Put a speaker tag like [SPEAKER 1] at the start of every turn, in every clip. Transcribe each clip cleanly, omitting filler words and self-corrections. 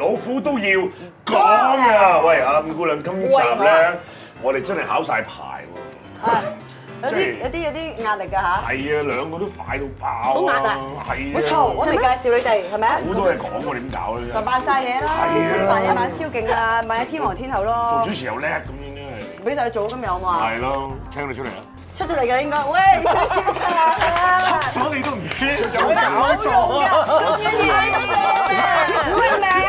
[SPEAKER 1] 老虎都要講啊！喂，阿五姑娘，今集咧，我哋真係考晒牌喎。
[SPEAKER 2] 有啲壓力㗎嚇。
[SPEAKER 1] 係啊，兩個都快到爆啊！
[SPEAKER 2] 好壓啊！
[SPEAKER 1] 係啊！
[SPEAKER 2] 好嘈，我哋介紹你哋係咪啊？
[SPEAKER 1] 好多嘢講喎，點搞咧？
[SPEAKER 2] 就扮晒嘢啦，扮一扮超勁啊，扮一天王天后咯。
[SPEAKER 1] 做主持又叻咁樣咧。
[SPEAKER 2] 俾晒做今日好嘛？
[SPEAKER 1] 係咯，請你出嚟啊！
[SPEAKER 2] 出咗嚟㗎應該，喂，小陳啊！
[SPEAKER 3] 出咗你都唔知，有冇搞錯啊？
[SPEAKER 2] 歡迎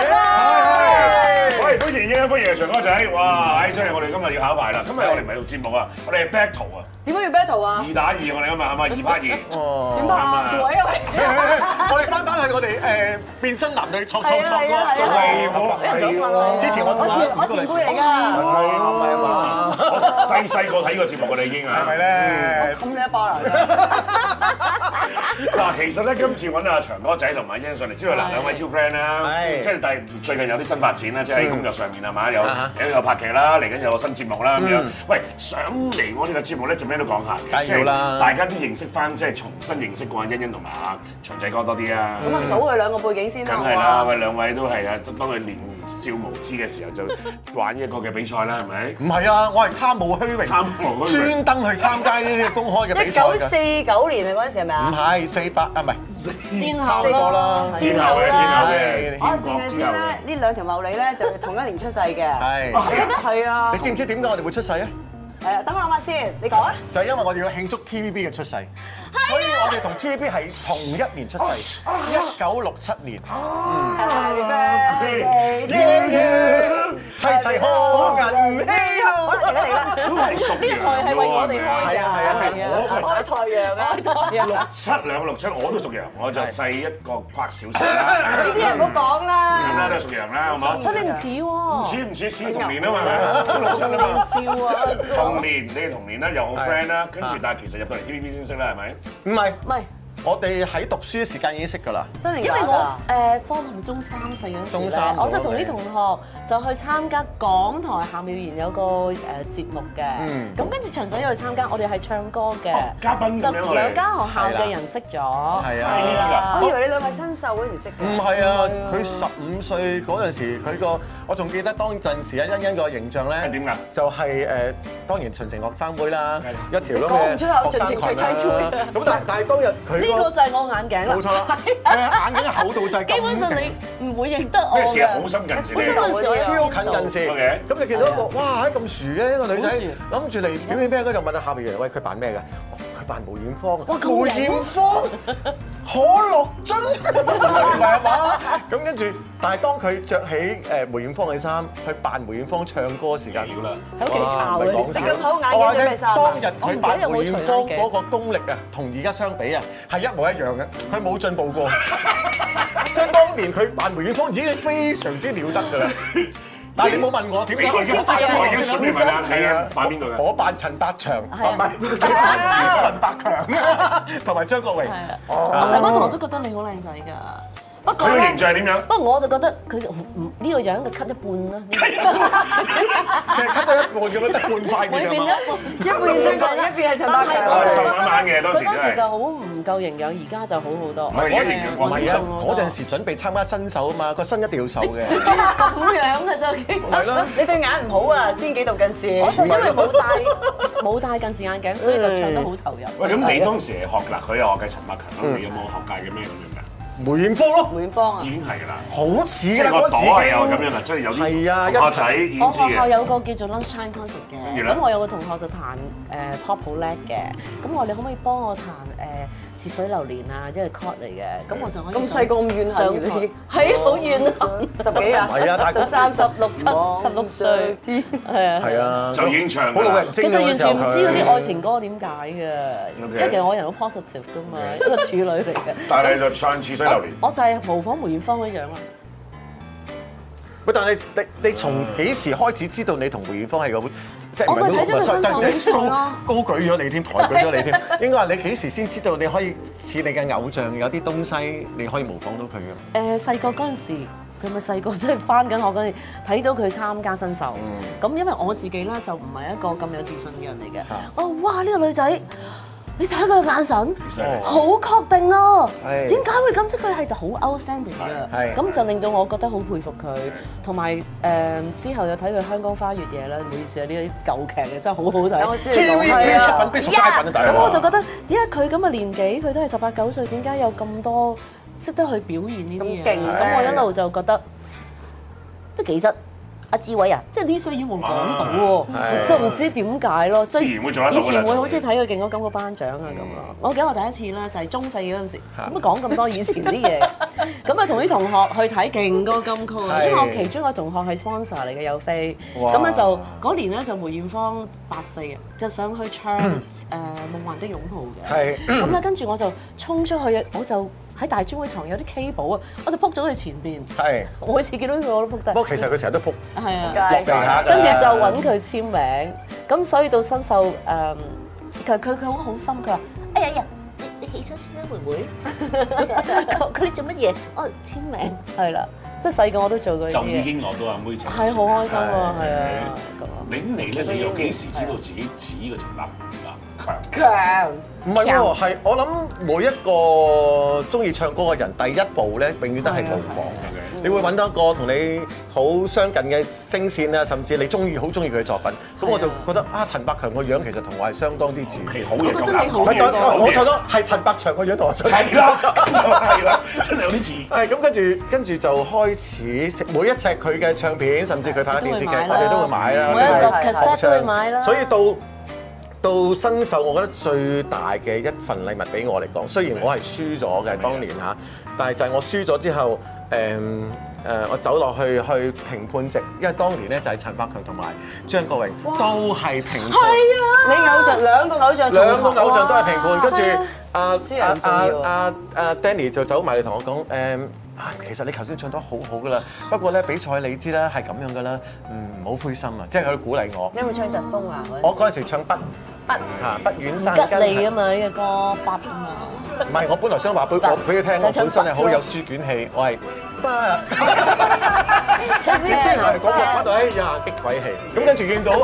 [SPEAKER 1] 喂，歡迎長哥仔！哇，真係我哋今日要考牌啦！今日我哋唔係錄節目啊，我哋係 battle 啊！
[SPEAKER 2] 點解要 battle 啊
[SPEAKER 1] ？2打2，我哋今日係咪2拍2？
[SPEAKER 2] 點拍啊？調位啊喂！
[SPEAKER 3] 我哋翻去我哋變身男女錯
[SPEAKER 2] 係
[SPEAKER 3] 之前
[SPEAKER 2] 我前輩嚟㗎。
[SPEAKER 3] 係嘛？
[SPEAKER 1] 細個睇過節目㗎啦已經啊！
[SPEAKER 3] 係咪咧？
[SPEAKER 2] 冚你一巴啦！
[SPEAKER 1] 嗱，其實咧今次揾阿長哥仔同埋欣上嚟，知道嗱兩位超 friend 啦，即係但係最近有啲新發展啦，即係喺工作上面係嘛，有拍劇啦，嚟緊有個新節目啦咁樣。喂，上嚟我哋嘅節目咧，做咩都講下嘅，即係大家都認識翻，即係重新認識過阿欣欣同埋阿長仔哥多啲啊。
[SPEAKER 2] 咁啊，數佢兩個背景先啦。
[SPEAKER 1] 梗係啦，喂，兩位都係啊，當佢年少無知嘅時候就玩一個嘅比賽啦，係咪？
[SPEAKER 3] 唔係啊，我係貪慕虛榮，專登去參加呢啲公開嘅比賽。
[SPEAKER 2] 1949年啊，嗰陣時係咪啊？
[SPEAKER 3] 唔係48啊，唔係
[SPEAKER 2] 戰
[SPEAKER 3] 後啦，
[SPEAKER 1] 戰後嘅。
[SPEAKER 2] 我淨係知咧，呢兩條茂利咧就同一年出世嘅。係啊。
[SPEAKER 3] 你知唔知點解我哋會出世啊？
[SPEAKER 2] 等我諗下先，你講啊。
[SPEAKER 3] 就係因為我哋要慶祝 TVB 嘅出世，所以我哋同 TVB 係同一年出世，1967年。齊齊賀銀禧咯。
[SPEAKER 2] 嚟啦！
[SPEAKER 1] 都係屬羊
[SPEAKER 2] 係為我哋開㗎。
[SPEAKER 3] 係
[SPEAKER 2] 開太陽啊
[SPEAKER 1] ！67兩個67，我都屬羊，我就細一個跨少少啦。
[SPEAKER 2] 呢啲人唔好講啦。
[SPEAKER 1] 咁啦，都係屬羊啦，好冇？
[SPEAKER 2] 但你唔似喎。
[SPEAKER 1] 唔似同年啊嘛，67啊嘛。
[SPEAKER 2] 笑啊！
[SPEAKER 1] 同年，你哋同年啦，又好 friend 啦，跟住但係其實入到嚟 TVB 先識啦，係咪？
[SPEAKER 3] 唔係。我哋喺讀書時間已經識㗎啦，
[SPEAKER 2] 真係
[SPEAKER 4] 因為我方同中3、4嗰陣時咧，我就同啲同學就去參加港台夏妙賢有個節目嘅，咁跟住長仔又去參加，我哋係唱歌嘅，
[SPEAKER 1] 嘉賓咁樣
[SPEAKER 4] 就兩間學校嘅人識咗，
[SPEAKER 3] 係啊，
[SPEAKER 2] 我以為你兩個係新秀嗰陣識嘅，
[SPEAKER 3] 唔係啊，佢15歲嗰陣時，我仲記得當陣時啊欣欣個形象咧
[SPEAKER 1] 係點㗎？
[SPEAKER 3] 就係當然純情學生妹啦，一條咁嘅學生裙啦，咁但係當日佢。
[SPEAKER 4] 呢個就係我眼鏡啦，
[SPEAKER 3] 冇錯啦，眼鏡厚度就係咁。
[SPEAKER 4] 基本上你唔會認得我嘅。
[SPEAKER 1] 咩事啊？好深近視，
[SPEAKER 3] 超近近視。咁你見到一個哇咁薯嘅一個女仔，諗住嚟表演咩嗰就問下下邊嘅人，喂佢扮咩㗎？佢扮梅艷芳啊！梅艷芳，可樂樽，唔係啊嘛？咁跟住，但係當佢着起梅艷芳嘅衫去扮梅艷芳唱歌時間，
[SPEAKER 1] 要啦，
[SPEAKER 4] 喺屋企抄嘅。
[SPEAKER 2] 你咁好眼鏡做咩衫？
[SPEAKER 3] 當日佢扮梅艷芳嗰個功力啊，同而家相比啊，係一模一樣嘅，佢冇進步過。即係當年佢扮梅艷芳已經非常之了得㗎啦。但係你冇問我點解？
[SPEAKER 1] 我已經順便問啦，係啊，扮邊個㗎？
[SPEAKER 3] 我扮陳百祥，唔係你扮陳百強，同埋張國榮。
[SPEAKER 4] 我成班同學都覺得你好靚仔㗎。不過
[SPEAKER 1] 佢嘅形象係點樣？
[SPEAKER 4] 不過我就覺得佢呢個樣嘅 cut 一半啦，
[SPEAKER 3] 即係 cut 咗一半咁樣得半塊面啊嘛。
[SPEAKER 2] 一邊張國榮，一邊係陳百強。
[SPEAKER 1] 瘦蜢蜢嘅當時
[SPEAKER 4] 佢當時就好唔夠營養，而家就好好多。
[SPEAKER 1] 唔係而家營養過剩啊！
[SPEAKER 3] 嗰陣時準備參加新秀啊嘛，個身一定要瘦嘅。
[SPEAKER 4] 咁樣嘅就
[SPEAKER 3] 係咯。
[SPEAKER 2] 你對眼唔好啊，千幾度近視。
[SPEAKER 4] 我就因為冇戴近視眼鏡，所以就唱得好投入。
[SPEAKER 1] 喂，咁你當時係學嗱，佢又學嘅陳百強啦，你有冇學界嘅咩咁樣㗎？
[SPEAKER 3] 梅艷芳咯，
[SPEAKER 2] 梅艷芳啊，
[SPEAKER 1] 已經係㗎啦，
[SPEAKER 3] 好似㗎啦
[SPEAKER 1] 個朵
[SPEAKER 3] 嗰時
[SPEAKER 1] 係有咁樣啊，即係有啲同學仔已經知
[SPEAKER 4] 我學校
[SPEAKER 1] 嘅。
[SPEAKER 4] 有個叫做 lunchtime concert 嘅，咁我有個同學就彈pop 好叻嘅，咁我你可唔可以幫我彈似水流年啊，即係 chord 嚟嘅，咁我就可以
[SPEAKER 2] 咁細個咁怨恨嘅，
[SPEAKER 4] 係好怨啊
[SPEAKER 2] ，10幾啊，
[SPEAKER 3] 係啊，大概
[SPEAKER 4] 13、16、16歲，係啊，
[SPEAKER 1] 就已經唱
[SPEAKER 3] 好老人精
[SPEAKER 4] 其實完
[SPEAKER 3] 嗰時候
[SPEAKER 4] 全唔知嗰啲
[SPEAKER 3] 佢。
[SPEAKER 4] 愛情歌點解嘅，因為其實我人好 positive 噶嘛，一個處女嚟嘅。
[SPEAKER 1] 但係就唱似水流年。
[SPEAKER 4] 我就係模仿梅艷芳嗰樣啦。
[SPEAKER 3] 喂，但係你從幾時開始知道你同梅艷芳係個即係唔係
[SPEAKER 4] 我咪睇咗佢新秀
[SPEAKER 3] 高舉咗你添，抬舉咗你添？應該話你幾時先知道你可以似你嘅偶像有啲東西你可以模仿到佢嘅？
[SPEAKER 4] 細個嗰陣時，佢咪細個即係翻緊學嗰陣，睇到佢參加新秀。咁因為我自己咧就唔係一個咁有自信嘅人嚟嘅。哇！呢個女仔你睇佢個眼神，好確定咯。點解會咁？即佢係好 outstanding 嘅，咁就令到我覺得好佩服佢。同埋之後又睇佢《香江花月夜》啦，唔好意思啊，呢啲舊劇嘅真係好好睇。
[SPEAKER 2] 我知
[SPEAKER 3] TVB 出品必屬佳品啊，大佬。
[SPEAKER 4] 咁我就覺得點解佢咁嘅年紀，佢都係18、19歲，點解有咁多識得去表現呢啲嘢？咁勁！咁我一路就覺得都幾質。阿志偉啊，即係呢些要我講到喎，就唔知點解咯，即係以前會好中意睇佢勁歌金曲頒獎啊咁啊！我記得我第一次咧就係中四嗰陣時，咁啊講咁多以前啲嘢，咁啊同啲同學去睇勁歌金曲啊，因為我其中一個同學係 sponsor 嚟嘅有飛，咁咧就嗰年咧就梅艷芳84嘅，就上去唱夢幻的擁抱嘅，咁咧跟住我就衝出去，我就喺大專會堂有啲 K 寶啊，我就撲咗佢前邊，我每次見到佢我都撲低。
[SPEAKER 3] 不過其實佢成日都撲，
[SPEAKER 4] 係啊，
[SPEAKER 3] 落地下㗎。
[SPEAKER 4] 跟住就揾佢簽名，咁所以到新秀佢好心，佢話：哎呀，你起身先啦，妹妹。佢哋做乜嘢？哦，簽名係啦，即係細個我都做過呢啲嘢。
[SPEAKER 1] 就已經攞到阿妹獎。係
[SPEAKER 4] 好開心啊，係啊。
[SPEAKER 1] 你咧，你又幾時知道自己似呢個陳百強？
[SPEAKER 2] 強
[SPEAKER 3] 唔係喎，係我諗每一個中意唱歌嘅人，第一步咧永遠都係模仿嘅。你會揾到一個同你好相近嘅聲線啊，甚至你好中意佢嘅作品。咁我就覺得啊，陳百強個樣其實同我係相當之似。
[SPEAKER 1] 好嘢咁啱，
[SPEAKER 3] 我錯咗，係陳百強個樣同我相似。
[SPEAKER 1] 係啦，真係有啲似。係
[SPEAKER 3] 咁跟住就開始食每一隻佢嘅唱片，甚至佢拍嘅電視劇，我哋都會買啦。
[SPEAKER 4] 每一個 cassette 都會買啦。
[SPEAKER 3] 所以到新秀，我覺得最大嘅一份禮物俾我嚟講，雖然我係輸咗嘅當年嚇，但係就係我輸咗之後，我走落去評判席，因為當年咧就係陳百強同埋張國榮都係評判。係啊！
[SPEAKER 2] 你偶像兩個偶像
[SPEAKER 3] 都係評判，跟住阿 Danny 就走埋嚟同我講其實你頭先唱得好好噶啦，不過咧比賽你知啦，係咁樣噶啦，唔好灰心啊，即係佢鼓勵我。
[SPEAKER 2] 你有冇唱疾風啊？
[SPEAKER 3] 我嗰陣時唱不遠山
[SPEAKER 4] 吉利啊嘛，呢個歌不啊嘛。
[SPEAKER 3] 唔係，我本來想話俾佢聽，我本身係好有書卷氣，我係不。即係我係講個不，哎呀激鬼氣。咁跟住見到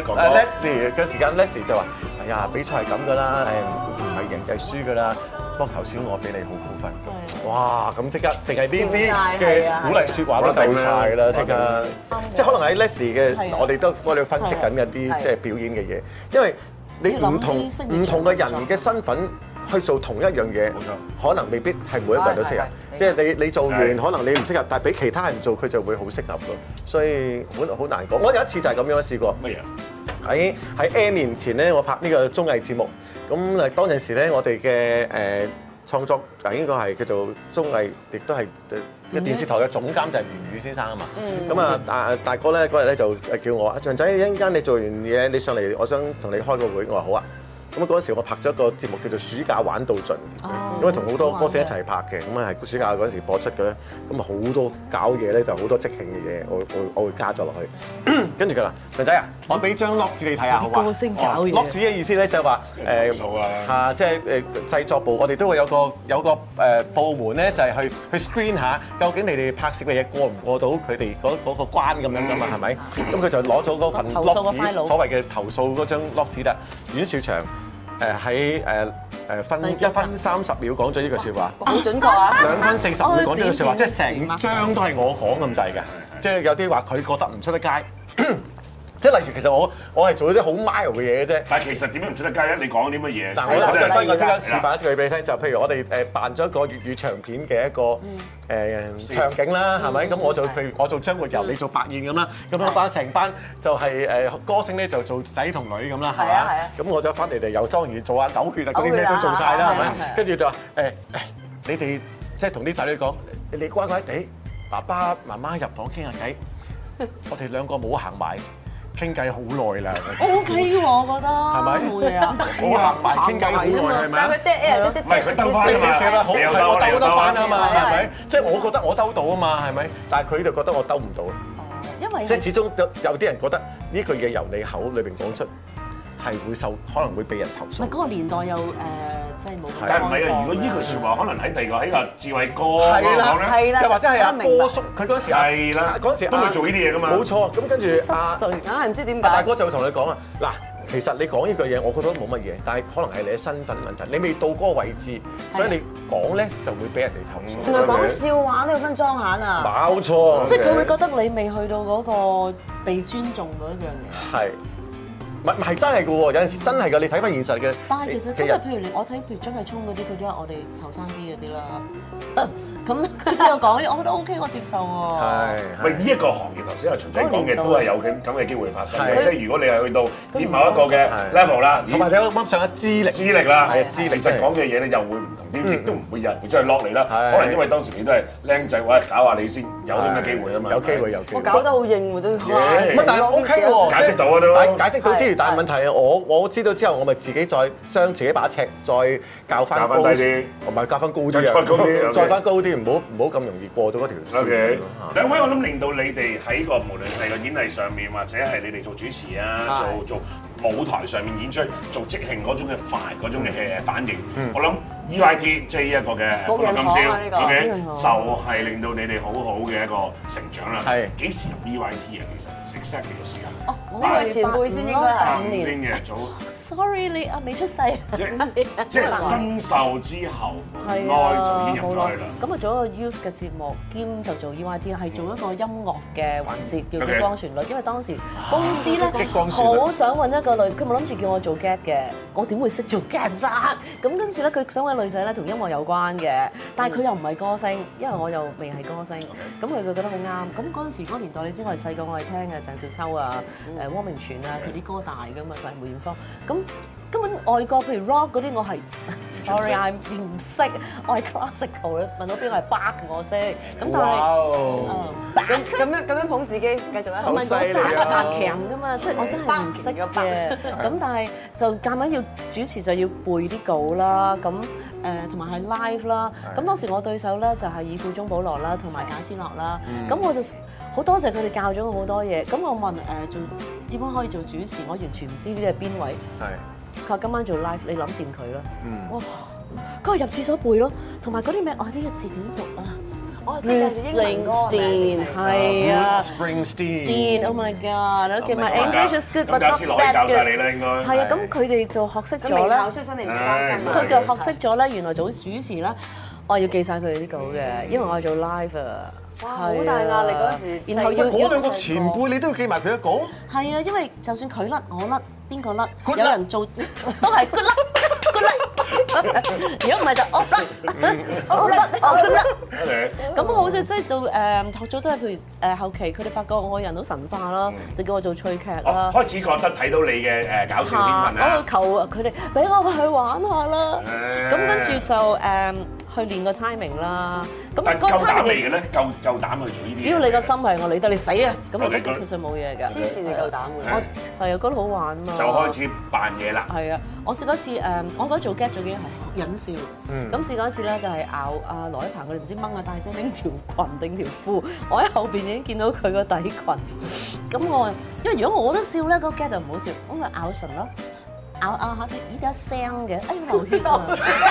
[SPEAKER 3] Leslie 嘅時間 ，Leslie 就話：哎呀，比賽係咁噶啦，唔係贏就係輸噶啦。不過頭先我俾你好高分，哇！咁即刻淨係呢啲嘅鼓勵説話都夠晒啦，即刻。即係可能喺 Leslie 嘅，我哋都分析緊一啲即係表演嘅嘢，因為你唔同嘅人嘅身份去做同一樣嘢，可能未必係每一個人都適合。即係你做完可能你唔適合，但係俾其他人做佢就會好適合咯。所以好難講。我有一次就係咁樣試過。乜嘢？喺 N 年前咧，我拍呢個綜藝節目，咁當陣時咧，我哋嘅創作應該係叫做綜藝，亦都係電視台嘅總監就係吳宇先生啊嘛。咁啊大哥咧嗰日咧就叫我阿象仔，一陣間你做完嘢你上嚟，我想同你開個會。我話好啊。咁嗰陣時我拍咗一個節目叫做《暑假玩到盡》，因為同好多歌星一齊拍嘅，咁啊係暑假嗰陣時播出嘅咧，咁啊好多搞嘢咧，就好多即興嘅嘢，我會加咗落去。跟住佢話：象仔啊，我俾張 lock 紙你睇下，好嘛？
[SPEAKER 4] 歌星搞嘢。
[SPEAKER 3] lock 紙嘅意思咧就係話即係製作部，我哋都會有個部門咧，就係去 screen 下，究竟你哋拍攝嘅嘢過唔過到佢哋嗰個關咁樣噶嘛？係咪？咁佢就攞咗嗰份 lock 紙，所謂嘅投訴嗰張 lock 紙啦。阮兆祥喺分1分30秒講咗呢句説話，
[SPEAKER 2] 好準確啊
[SPEAKER 3] ！2分40秒講呢句説話，即係成張都係我講咁滯嘅，即係有啲話佢覺得唔出得街。即係例如，其實我係做啲好 mild 嘅嘢嘅啫。
[SPEAKER 1] 但係其實點樣唔出得街咧？你講啲乜嘢？
[SPEAKER 3] 嗱，所以我即刻示範一次俾你聽，就譬如我哋扮咗一個粵語長片嘅一個場景啦，係咪？咁譬如我做張活游，你做白燕咁啦，咁樣成班就係歌星咧就做仔同女咁啦，係嘛？咁我就翻嚟又當然做下狗血啊嗰啲咩都做晒啦，係咪？跟住就話你哋即係同啲仔女講，你乖乖地，爸爸媽媽入房傾下偈，我哋兩個冇行埋。傾偈好耐啦
[SPEAKER 4] ，OK 喎，我覺得
[SPEAKER 3] 係咪？
[SPEAKER 4] 冇嘢啊，
[SPEAKER 3] 我行埋傾偈好耐係咪啊？
[SPEAKER 1] 唔係佢兜翻
[SPEAKER 3] 少啦，好係我兜得翻啊嘛，係咪？即係我覺得我兜到啊嘛，係咪？但係佢就覺得我兜唔到。
[SPEAKER 4] 因為
[SPEAKER 3] 即係始終有啲人覺得呢句嘢由你口裏邊講出係會可能會被人投訴。
[SPEAKER 4] 唔係嗰個年代又即係冇。
[SPEAKER 1] 但係唔係啊？如果呢句説話可能喺第二個喺阿志偉哥講咧，
[SPEAKER 3] 就或者係阿波叔，佢嗰陣時嗰陣時
[SPEAKER 1] 都會做呢啲嘢噶嘛。
[SPEAKER 3] 冇錯，咁跟住
[SPEAKER 2] 硬係唔知點解。
[SPEAKER 3] 大哥就會同你講啊，嗱， 其實你講呢句嘢，我覺得冇乜嘢，但係可能係你嘅身份問題，你未到嗰個位置，所以你講咧就會俾人哋投訴。
[SPEAKER 2] 原來講笑話都要分裝閒啊！
[SPEAKER 3] 冇錯，
[SPEAKER 4] 即係佢會覺得你未去到嗰個被尊重嗰一樣嘢。
[SPEAKER 3] 係。唔係真係嘅喎，有陣時真係嘅，你睇翻現實嘅。
[SPEAKER 4] 但係其實真係，譬如我睇譬如張繼聰嗰啲，佢都係我哋後生啲嗰啲啦。咁佢都有講，我覺得 OK， 我接受喎。
[SPEAKER 3] 係。
[SPEAKER 1] 喂，呢一個行業頭先阿秦仔講嘅都係有咁嘅機會發生嘅，即係如果你係去到某一個嘅 level 啦，
[SPEAKER 3] 同埋你啱啱上嘅資歷
[SPEAKER 1] 啦，係資歷，其實講嘅嘢咧又會唔同啲，亦都唔會有人會真係落嚟啦。可能因為當時你都係僆仔，喂，搞下你先，有啲咩機會啊嘛。
[SPEAKER 3] 有機會。
[SPEAKER 2] 我搞得好應喎都。
[SPEAKER 3] 但係 OK 喎，
[SPEAKER 1] 解釋到啊都。
[SPEAKER 3] 解釋到之餘，但係問題係我知道之後，我咪自己再將自己把尺再教翻高啲，唔係教翻高啲啊，再翻高啲，唔好咁容易過到嗰條線。
[SPEAKER 1] 兩位我諗令到你哋喺個無論係個演藝上面，或者係你哋做主持啊，做舞台上面演出，做即興嗰種嘅快嗰種嘅反應，我諗 EYT 即係呢一個嘅歡樂今宵 ，OK， 就係令到你哋好好嘅一個成長啦。係幾時入 EYT 啊？其實 exactly 個時間。
[SPEAKER 2] 哦，呢位前輩先應該係
[SPEAKER 1] 5年嘅早。
[SPEAKER 4] Sorry， 你未出世。
[SPEAKER 1] 即係新秀之後，耐就已經入咗去啦。
[SPEAKER 4] 咁啊做一個 youth 嘅節目，兼就做 EYT， 係做一個音樂嘅環節，叫激光旋律。因為當時公司咧好想揾一個女，佢冇諗住叫我做 get 嘅，我點會識做 get 啫？咁跟住咧，佢想揾女仔咧同音樂有關嘅，但係佢又唔係歌星，因為我又未係歌星，咁佢覺得好啱。咁嗰陣時嗰個年代，你知我係細個，我係聽嘅鄭少秋啊、汪明荃啊，佢啲歌大㗎嘛，佢係梅艷芳。咁根本外國譬如 rock 嗰啲，我係 sorry I 唔識，我係 classical 咧。問到邊個係 Bach 我識，咁但係
[SPEAKER 2] 咁樣捧自己，繼續啊！
[SPEAKER 4] 唔係我彈強㗎嘛，即係我真係唔識嘅。咁但係就夾硬要主持就要背啲稿啦，咁同埋係 live 啦。咁當時我對手咧就係以顧鍾保羅啦，同埋賈思樂啦。咁我就好多謝佢哋教咗我好多嘢。咁我問做點樣可以做主持，我完全唔知呢啲係邊位。佢話今晚做 live， 你諗掂佢啦。哇！佢話入廁所背咯，同埋嗰啲咩？呢個字點讀啊？Bruce Springsteen 係啊 ，Springsteen，Oh my God！OK，my English is good，but not that good。係啊，咁佢哋就學識咗咧。
[SPEAKER 2] 出身嚟唔擔心啊！
[SPEAKER 4] 佢就學識咗咧，原來做主持咧，我要記晒佢哋啲稿嘅，因為我係做 live 啊。
[SPEAKER 2] 哇！好大壓力嗰時，
[SPEAKER 4] 然後要
[SPEAKER 3] 嗰兩個前輩，你都要記埋佢一稿。
[SPEAKER 4] 係啊，因為就算佢甩，我甩，邊個甩，有人做都係 good 甩。如果唔係就我甩。咁好似即係到學咗都係譬如後期佢哋發覺我人都神化啦，就叫我做趣劇啦。
[SPEAKER 1] 開始覺得睇到你嘅搞笑天分啦。
[SPEAKER 4] 我求佢哋俾我去玩下啦。咁跟住就去練個 timing 啦。咁
[SPEAKER 1] 但係夠膽嚟嘅咧，夠膽去做呢啲。
[SPEAKER 4] 只要你個心係我理得你死啊，咁其實冇嘢㗎。
[SPEAKER 2] 黐線就夠膽嘅。
[SPEAKER 4] 我係啊，覺得好玩啊嘛。
[SPEAKER 1] 就開始扮嘢啦。
[SPEAKER 4] 係啊，我試過一次我覺得做 get 最緊要係忍笑。咁試過一次咧，就係咬阿羅一鵬佢哋唔知掹阿大姐拎條裙定條褲，我喺後邊已經見到佢個底裙。咁我因為如果我都笑咧，嗰個 get 就唔好笑，咁咪咬唇咯，咬下啲依家聲嘅，哎流血啊！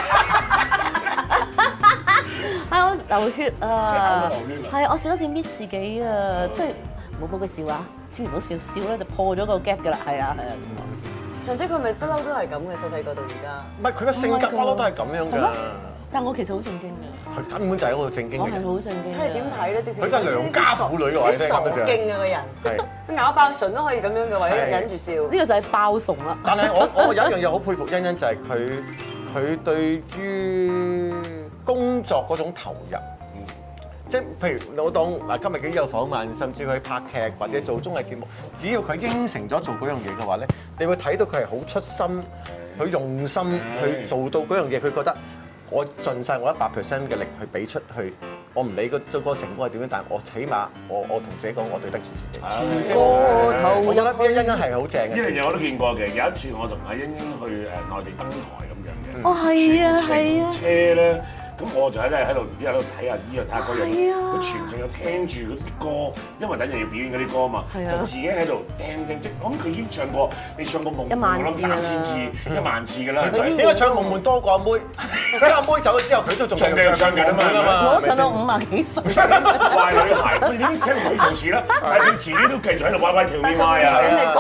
[SPEAKER 4] 係我流血啊！係我試一次搣自己啊！即係冇幫佢笑啊！千祈唔好笑，笑咧就破咗個 get 㗎啦！係啊係啊！
[SPEAKER 2] 長姐佢咪不嬲都係咁嘅，細細個到而家。
[SPEAKER 3] 唔係佢個性格不嬲都係咁樣㗎。
[SPEAKER 4] 但我其實好正經㗎。
[SPEAKER 3] 佢根本就係一個正經嘅人。
[SPEAKER 4] 我係好正經。
[SPEAKER 2] 睇你點睇咧？
[SPEAKER 3] 佢真係良家婦女㗎，
[SPEAKER 2] 你傻勁啊個人。係。佢咬爆唇都可以咁樣嘅，為咗忍住笑。呢
[SPEAKER 4] 個就係爆慫啦。
[SPEAKER 3] 但係我有一樣嘢好佩服欣欣，就係佢對於工作嗰種投入。即係譬如我當嗱今日幾有訪問，甚至佢拍劇或者做綜藝節目，只要佢應承咗做嗰樣嘢嘅話咧，你會睇到佢係好出心、好用心去做到嗰樣嘢。佢覺得我盡晒我100% 嘅力去俾出去，我唔理個成果係點樣，但係我起碼我同自己講，我對得住自己。我覺得呢欣欣係好正嘅。
[SPEAKER 1] 呢樣嘢我都見過嘅。有一次我同阿欣欣去內地登台咁樣嘅。
[SPEAKER 4] 哦，係啊，係啊。
[SPEAKER 1] 車咧。咁我就喺度唔知喺度睇下呢樣睇下嗰樣，佢全程有聽住嗰啲歌，因為等陣要表演嗰啲歌嘛，就自己喺度聽。即我諗佢已經唱過，你唱過夢，我諗3000次、10000次㗎啦。
[SPEAKER 3] 應該唱夢夢多過阿妹，咁阿妹走咗之後，佢都仲繼續唱緊啊嘛。
[SPEAKER 4] 我唱到50幾歲。
[SPEAKER 1] 壞女孩，你點聽唔起做事啦？但係佢自己都繼續喺度歪歪跳歪啊！
[SPEAKER 3] 你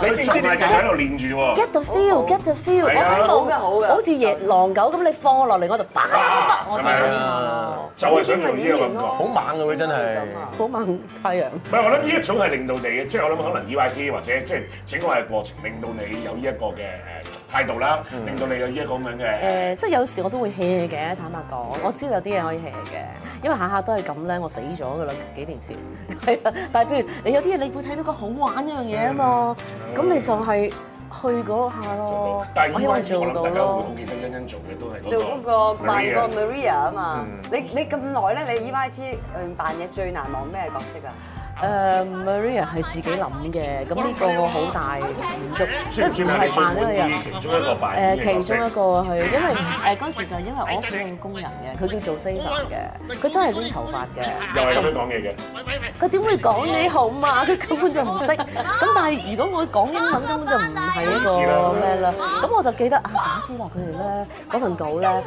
[SPEAKER 3] 你知唔知點解
[SPEAKER 1] 喺度練住喎
[SPEAKER 4] ？Get the feel，get the feel。我喺度好似野狼狗咁，你放我落嚟我就叭，我就係
[SPEAKER 1] 就係想做呢個感覺，
[SPEAKER 3] 好猛㗎佢真係，
[SPEAKER 4] 好猛太陽。
[SPEAKER 1] 唔係我諗呢一種係令到你嘅，即係我諗可能 EYT 或者即係整個嘅過程，令到你有呢一個嘅態度啦，令到你有呢一個咁樣嘅
[SPEAKER 4] 即係有時我都會 hea 嘅，坦白講，我知道有啲嘢可以 hea 嘅，因為下下都係咁咧，我死咗㗎啦，幾年前係啊。但係譬如你有啲嘢，你會睇到個好玩一樣嘢啊嘛，咁你就係去嗰下咯。
[SPEAKER 1] 但係
[SPEAKER 4] 我希望做到
[SPEAKER 1] 大家會好
[SPEAKER 4] 咯。
[SPEAKER 1] 記得欣欣做嘅都係
[SPEAKER 2] 做嗰個扮個 Maria 啊嘛。你咁耐咧，你 EYT 扮嘢最難忘咩角色啊
[SPEAKER 4] ？Maria 係自己諗嘅，咁呢個好大滿足，即係唔係扮呢個人。
[SPEAKER 1] 其中一個扮
[SPEAKER 4] 其中一個係因為嗰陣時就係因為我屋企係工人嘅，佢叫做 Saver 嘅，佢真係攣頭髮嘅。
[SPEAKER 1] 又係咁樣講嘢嘅。
[SPEAKER 4] 佢點會講你好嘛？佢根本就唔識。咁但係如果我講英文根本就唔係一個咩啦。咁我就記得簡思樂佢哋咧嗰份稿咧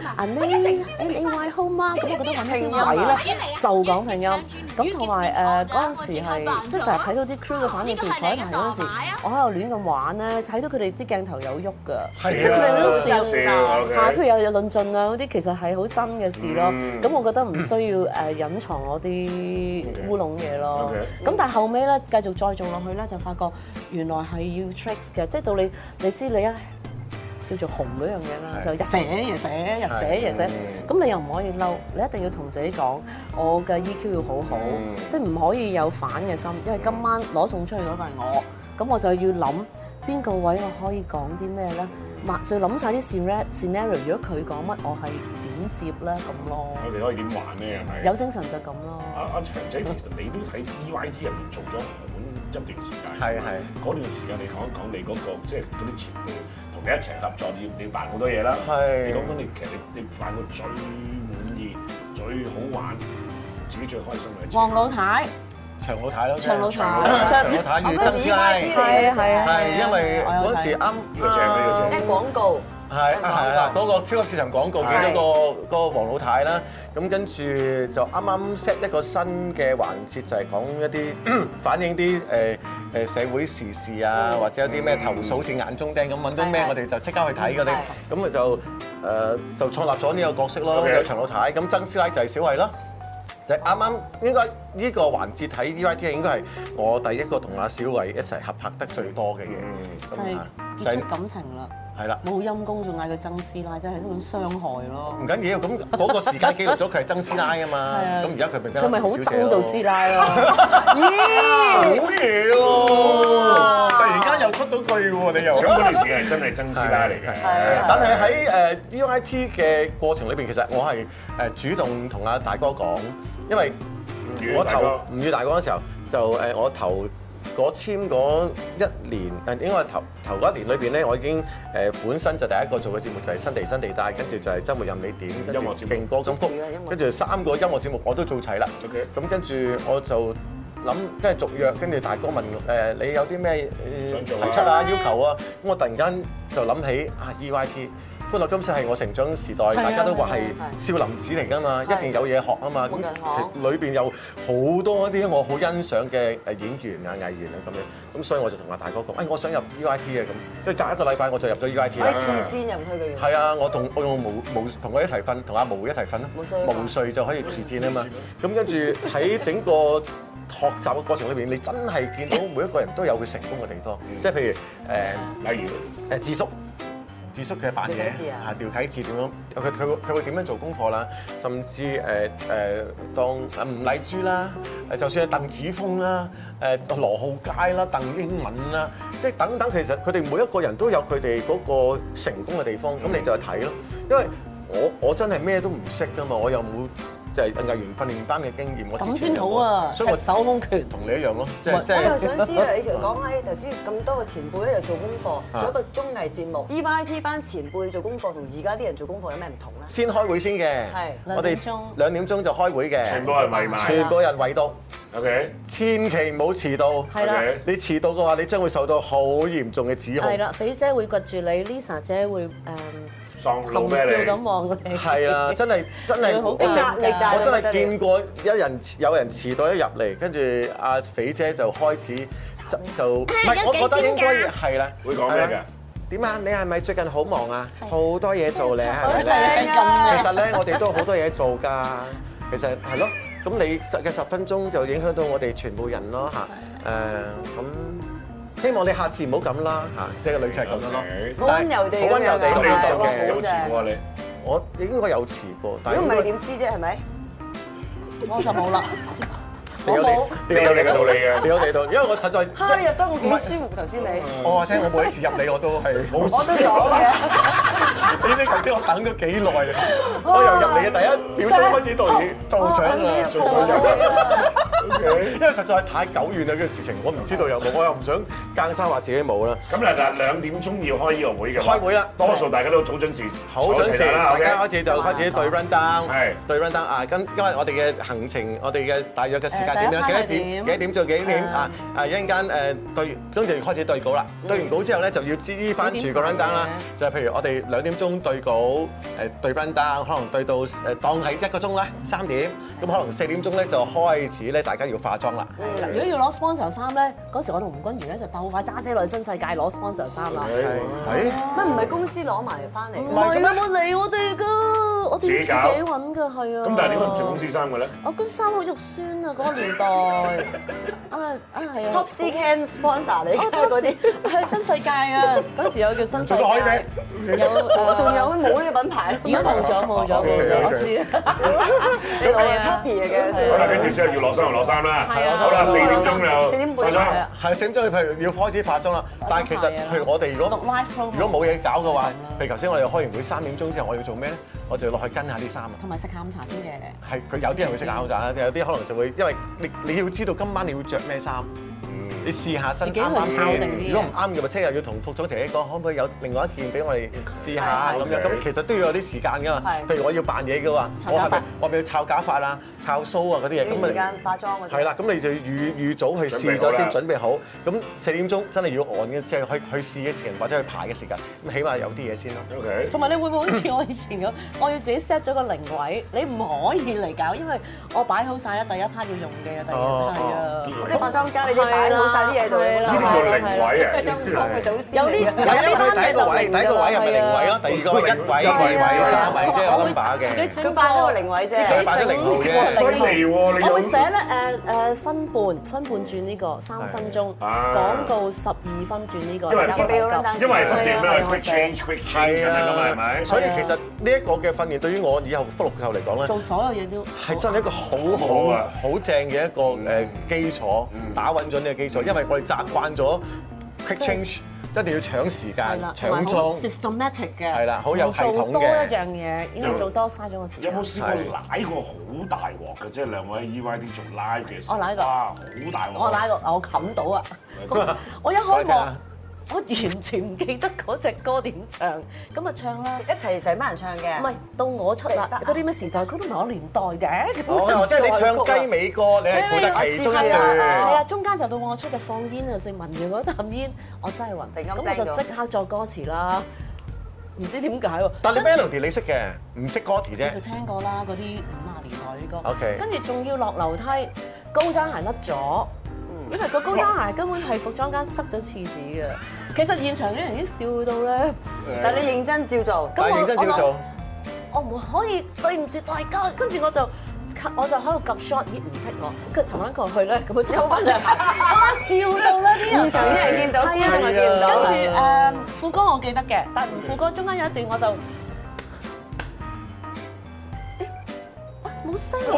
[SPEAKER 4] ，Nay 好嘛？咁我覺得揾啲位咧就講拼音。咁同埋嗰陣時。係，即係成日睇到啲 crew 嘅反應，譬如坐喺台嗰陣時，我喺度亂咁玩咧，睇到佢哋啲鏡頭有喐㗎，即係佢哋都笑㗎。嚇，譬如有論盡啊嗰啲，其實係好真嘅事咯。咁我覺得唔需要隱藏我啲烏龍嘢咯。咁但係後尾咧，繼續再做落去咧，就發覺原來係要 tricks 嘅，即係到你知你叫做紅嗰樣嘢啦，就日寫夜寫，日寫夜寫。咁你又唔可以嬲，你一定要同自己講，我嘅 EQ 要好好，即係唔可以有反嘅心，因為今晚攞送出去嗰個係我，咁我就要諗邊個位我可以講啲咩咧，就諗晒啲 scenario， 如果佢講乜，我係點接咧咁咯。
[SPEAKER 1] 我哋可以點玩咧？係咪？
[SPEAKER 4] 有精神就咁咯。
[SPEAKER 1] 阿長仔，其實你都喺 EYT 入面做咗一段時間。係。嗰段時間你講一講你嗰個即係嗰啲前輩。你一齊合作，你扮好多嘢啦。係。你講講其實你扮過最滿意、最好玩、自己最開心嘅。
[SPEAKER 2] 黃老太。
[SPEAKER 3] 長老太咯。
[SPEAKER 2] 長老太。
[SPEAKER 3] 長老太與曾師奶。係因為嗰時啱。
[SPEAKER 1] 呢個正呢個正。
[SPEAKER 2] 啲廣告。
[SPEAKER 3] 係啦，嗰個超級市場廣告見到個黃老太啦，咁跟住就啱啱 set 一個新嘅環節，就係講一啲反映啲社會時事啊，或者一啲咩投訴好似眼中釘咁揾到咩，我哋就即刻去睇嗰啲，咁咪就創立咗呢個角色咯，有長老太，咁曾師奶就係小慧咯，就係啱啱應該呢個環節睇 EYT 應該係我第一個同阿小慧一齊合拍得最多嘅嘢，
[SPEAKER 4] 就係結出感情啦。
[SPEAKER 3] 係啦，
[SPEAKER 4] 冇陰公仲嗌佢曾師奶，真係一種傷害咯。
[SPEAKER 3] 唔緊要，咁嗰個時間記錄咗佢係曾師奶啊嘛。咁而家佢
[SPEAKER 4] 咪好憎做師奶咯？
[SPEAKER 3] 咦，好嘢喎！突然間又出到句喎，你又
[SPEAKER 1] 咁嗰段時間係真係曾師奶嚟嘅。
[SPEAKER 3] 但係喺EYT 嘅過程裏邊，其實我係主動同阿大哥講，因為我投吳宇大哥嗰時候就我投。簽嗰一年，應該係頭嗰一年裏邊咧，我已經本身就第一個做嘅節目就係新地帶，跟住就係週末任你點，跟住勁歌金曲，跟住3個音樂節目我都做齊啦。咁跟住我就諗，跟住續約，跟住大哥問你有啲咩提出啊、要求啊，咁我突然間就諗起EYT。歡樂今宵係我成長時代，大家都話係少林寺嚟㗎嘛，一定有嘢學啊嘛。咁裏邊有好多一啲我好欣賞嘅演員啊、藝員啊咁樣，咁所以我就同阿大哥講，我想入 EYT 啊咁，跟住隔一個禮拜我就入咗 EYT 啦。
[SPEAKER 2] 你自薦入去嘅原因？
[SPEAKER 3] 係啊，我同佢一齊瞓，同阿毛一齊瞓咯。毛遂就可以自薦啊嘛。咁跟住喺整個學習嘅過程裏邊，你真係見到每一個人都有佢成功嘅地方，即係譬如例如智叔嘅扮嘢，廖啟智點樣？佢會點樣做功課啦？甚至當吳麗珠啦，就算係鄧子峰啦，羅浩佳啦，鄧英文啦，即係等等，其實佢哋每一個人都有佢哋嗰個成功嘅地方，咁你就去睇咯。因為我真係咩都唔識㗎嘛，我又冇。就係藝員訓練班嘅經驗，我
[SPEAKER 4] 咁先好啊！
[SPEAKER 3] 所以我
[SPEAKER 4] 手空拳
[SPEAKER 3] 同你一樣咯，即係
[SPEAKER 2] 我又想知啊！你講起頭先咁多個前輩咧，又做功課，做一個綜藝節目。EYT 班前輩做功課同而家啲人做功課有咩唔同咧？
[SPEAKER 3] 先開會先嘅，我哋2點鐘就開會嘅，
[SPEAKER 1] 全部人圍埋，
[SPEAKER 3] 全部人圍讀。
[SPEAKER 1] OK，
[SPEAKER 3] 千祈唔好遲到。係啦，你遲到嘅話，你將會受到好嚴重嘅指控。
[SPEAKER 4] 係啦，肥姐會掘住你 ，Lisa 姐會含笑咁望你。
[SPEAKER 3] 係啦，真係
[SPEAKER 2] 好壓力
[SPEAKER 3] 我真係見過有人遲到一入嚟，跟住阿肥姐就開始就唔係，我覺得應該係啦。
[SPEAKER 1] 會講咩㗎？
[SPEAKER 3] 點啊？你係咪最近好忙啊？好多嘢做咧，係咪
[SPEAKER 4] 咧？
[SPEAKER 3] 其實咧，我哋都好多嘢做㗎。其實係咯，咁你嘅10分鐘就影響到我哋全部人咯嚇。咁希望你下次唔好咁啦嚇，即係個女仔係咁樣咯。
[SPEAKER 2] 好溫柔地，
[SPEAKER 3] 好溫柔地咁樣做嘅。
[SPEAKER 1] 有遲過你？
[SPEAKER 3] 我應該有遲過，但係
[SPEAKER 2] 如果唔係你點知啫？係咪？
[SPEAKER 4] 我就冇啦。
[SPEAKER 3] 你有你嘅道理嘅，你有你嘅道理，因為我實在
[SPEAKER 2] 入得我幾舒服頭先你。
[SPEAKER 3] 我話聽我每一次入嚟我都係好。
[SPEAKER 2] 我都爽嘅。
[SPEAKER 3] 你知頭先我等咗幾耐啊？我由入嚟嘅第一秒鐘開始到做相啦，做相。因為實在太久遠啦，呢個事情我唔知道有冇，我又唔想更生話自己冇啦。
[SPEAKER 1] 咁嗱2點鐘要開呢個會嘅。
[SPEAKER 3] 開會啦，
[SPEAKER 1] 多數大家都早準時，
[SPEAKER 3] 好準時，大家開始就開始對 run down， 對 run down 啊！因為我哋嘅行程，我哋嘅大約嘅時間點樣？幾多點做幾點啊？一陣間對，跟住開始對稿啦。對完稿之後咧，就要知翻住個 run down 啦。就係譬如我哋2點鐘對稿，對 run down，可能對到當係1個鐘啦，3點。咁可能4點鐘咧就開始咧，大家要化妝啦。
[SPEAKER 4] 如果要攞 sponsor 衫咧，嗰時我同吳君如咧就鬥快揸車落去新世界攞 sponsor 衫啦。
[SPEAKER 3] 係
[SPEAKER 2] 乜唔係公司攞埋翻嚟？
[SPEAKER 4] 唔係有冇嚟我哋㗎？我哋自己揾㗎，係啊。
[SPEAKER 1] 咁但係點解唔着公司衫嘅咧？
[SPEAKER 4] 我嗰衫好肉酸啊！嗰個年代係啊
[SPEAKER 2] Top C Can sponsor 嚟嘅
[SPEAKER 4] 嗰啲係新世界啊！嗰時有叫新世界，
[SPEAKER 2] 有仲有冇呢個品牌？
[SPEAKER 4] 而家冇咗，我知啊。
[SPEAKER 2] 你攞嘅 copy 嘅。
[SPEAKER 1] 好啦，跟住之後要落衫就落衫啦。
[SPEAKER 4] 係啊。
[SPEAKER 1] 好啦，4點鐘就
[SPEAKER 2] 4點半
[SPEAKER 1] 化妝。
[SPEAKER 3] 係4點鐘，譬如要開始化妝啦。但係其實譬如我哋如果冇嘢搞嘅話，譬如頭先我哋開完會3點鐘之後，我要做咩咧？我就要落去跟下啲衫啊。
[SPEAKER 4] 同埋食下午茶先嘅。
[SPEAKER 3] 係佢有啲人會食下午茶啦，有啲可能就會因為你要知道今晚你要着咩衫。你試下身啱啱先，如果唔啱嘅咪即係又要同服裝姐姐講，可唔可以有另外一件俾我哋試下咁樣？咁其實都要有啲時間㗎嘛。譬如我要扮嘢嘅話，我咪要摷假髮啊、摷鬚啊嗰啲嘢。
[SPEAKER 2] 咁時間化妝嗰啲。
[SPEAKER 3] 係啦，咁你就預早去試咗先，準備好。咁4點鐘真係要按嘅，即係去試嘅時間或者去排嘅時間，咁起碼有啲嘢先咯。
[SPEAKER 1] OK。
[SPEAKER 4] 同埋你會唔會好似我以前咁，我要自己 set 咗個靈位，你唔可以嚟搞，因為我擺好晒啦，第一 part 要用嘅，第二 part 係啊，
[SPEAKER 2] 即係化妝間你哋擺好晒啲嘢度啦。
[SPEAKER 1] 呢個靈位啊！
[SPEAKER 4] 有啲
[SPEAKER 3] 第一個位係咪靈位咯？第二個位1位、2位、3位，即係有 number 嘅。
[SPEAKER 2] 佢擺咗個靈位啫，
[SPEAKER 3] 自己擺咗靈號啫。
[SPEAKER 1] 犀利喎！
[SPEAKER 4] 我會寫咧分半轉呢個3分鐘，廣告12分轉呢個。
[SPEAKER 1] 因為點咧 quick change 係咪？
[SPEAKER 3] 所以其實呢一個嘅訓練對於我以後福祿壽嚟講咧，
[SPEAKER 4] 做所有嘢都
[SPEAKER 3] 係真係一個好正嘅一個基礎，打穩咗呢個基礎。因為我哋習慣咗 quick change，一定要搶時間、搶裝
[SPEAKER 4] systematic 嘅，
[SPEAKER 3] 係啦，好有系統嘅。
[SPEAKER 4] 做多一樣嘢，因為做多嘥咗個時間。
[SPEAKER 1] 有冇試過舐過好大鑊嘅？即係兩位 EYD 做 live 嘅時候，
[SPEAKER 4] 我舐過，
[SPEAKER 1] 好大鑊。
[SPEAKER 4] 我舐過，我冚到啊！我一開幕，我完全唔記得嗰隻歌點唱，咁啊唱啦，
[SPEAKER 2] 一齊成班人唱嘅。
[SPEAKER 4] 唔係到我出啦，嗰啲咩時代曲都唔係我年代嘅。
[SPEAKER 3] 哦，即係你唱雞尾歌，你係負責其中一段。
[SPEAKER 4] 係啊，中間就到我出就放煙啊，食聞完嗰啖煙，我真係暈。咁我就即刻作歌詞啦，唔知點解喎。
[SPEAKER 3] 但係你 melody 你識嘅，唔識歌詞啫。
[SPEAKER 4] 我就聽過啦，嗰啲50年代啲歌。
[SPEAKER 3] OK。
[SPEAKER 4] 跟住仲要落樓梯，高踭鞋甩咗。因為個高踭鞋根本係服裝間塞咗廁紙嘅，其實現場啲人已經笑到咧。
[SPEAKER 2] 但係你認真照做，
[SPEAKER 3] 但係認真照做，
[SPEAKER 4] 我唔可以對唔住大家，跟住我就喺度夾 shot， 咦唔剔我，跟住沉翻過去咧，咁佢抽翻上嚟，笑到啦啲人，現場啲人見到，觀眾咪見唔到。跟住副歌我記得嘅，但係副歌中間有一段我就。冇聲做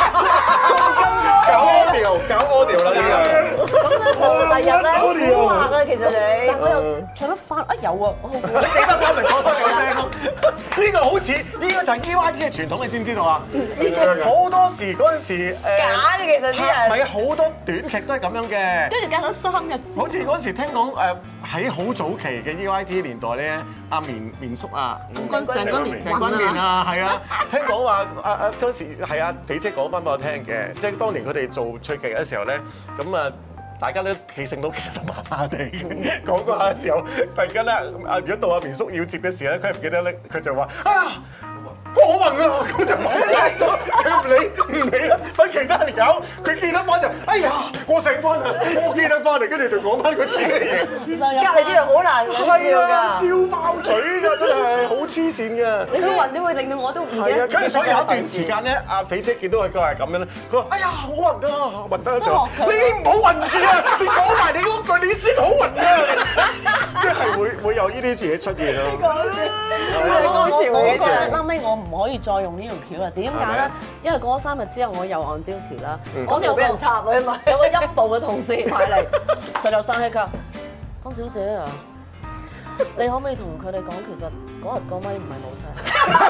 [SPEAKER 3] 搞 audio 啦呢樣。
[SPEAKER 4] 咁咧就第日咧好話㗎，其實你，但我又唱得翻啊有啊，我好估。
[SPEAKER 3] 你記得翻嚟講翻有聲咯。呢個好似呢個就係 EYD 嘅傳統，你知唔知道啊？好多時嗰陣時
[SPEAKER 2] 假嘅其實啲人。
[SPEAKER 3] 係啊，好多短劇都係咁樣嘅。
[SPEAKER 4] 跟住隔咗3日。
[SPEAKER 3] 好似嗰陣時聽講喺好早期嘅 EYD 年代咧，阿綿叔啊，
[SPEAKER 4] 鄭君綿
[SPEAKER 3] 啊，係啊，聽講話嗰時。係啊，肥姐講翻俾我聽嘅，即係當年佢哋做趣劇嘅時候咧，咁啊大家都記性到其實就麻麻地講嗰下嘅時候，突然間咧如果到阿綿叔要接嘅時候咧，佢唔記得咧，佢就話啊，我暈啊！咁就冇咗，佢唔理啦，揾其他人搞。佢記得翻就，哎呀，我醒翻啦，我記得翻嚟，跟住就講翻個自己嘅嘢。
[SPEAKER 2] 隔離啲人好難笑㗎，
[SPEAKER 3] 笑爆嘴㗎，真係好黐線㗎。
[SPEAKER 2] 佢暈都會令到我都唔記得。
[SPEAKER 3] 係啊，跟住所以有一段時間咧，阿肥姐見到佢係咁樣咧，佢話：哎呀，好暈啊，暈得嘅時候，你唔好暈住啊！你講埋你嗰句，你先好暈啊！即係會有呢啲嘢出現咯。
[SPEAKER 4] 我覺得後尾我唔可以再用呢條橋啦。點解咧？因為過咗3日之後，我又on duty啦，
[SPEAKER 2] 我又俾人插啊嘛，
[SPEAKER 4] 有個陰部嘅同事埋嚟，實就生氣㗎。江小姐啊，你可唔可以同佢哋講，其實嗰日個咪唔係冇聲，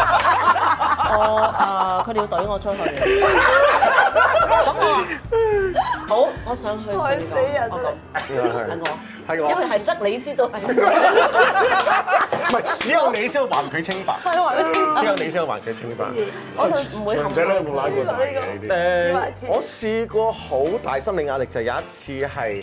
[SPEAKER 4] 佢哋要懟我出去。咁我好，我想去
[SPEAKER 2] 害死人
[SPEAKER 4] 我
[SPEAKER 3] 係我，
[SPEAKER 4] 因為係得你知道係，
[SPEAKER 3] 唔係只有你先會還佢清白，只有你先會還佢清白。
[SPEAKER 4] 我就唔會
[SPEAKER 1] 長仔咧有冇拉過大嘅呢啲？
[SPEAKER 3] 我試過好大心理壓力，就有一次係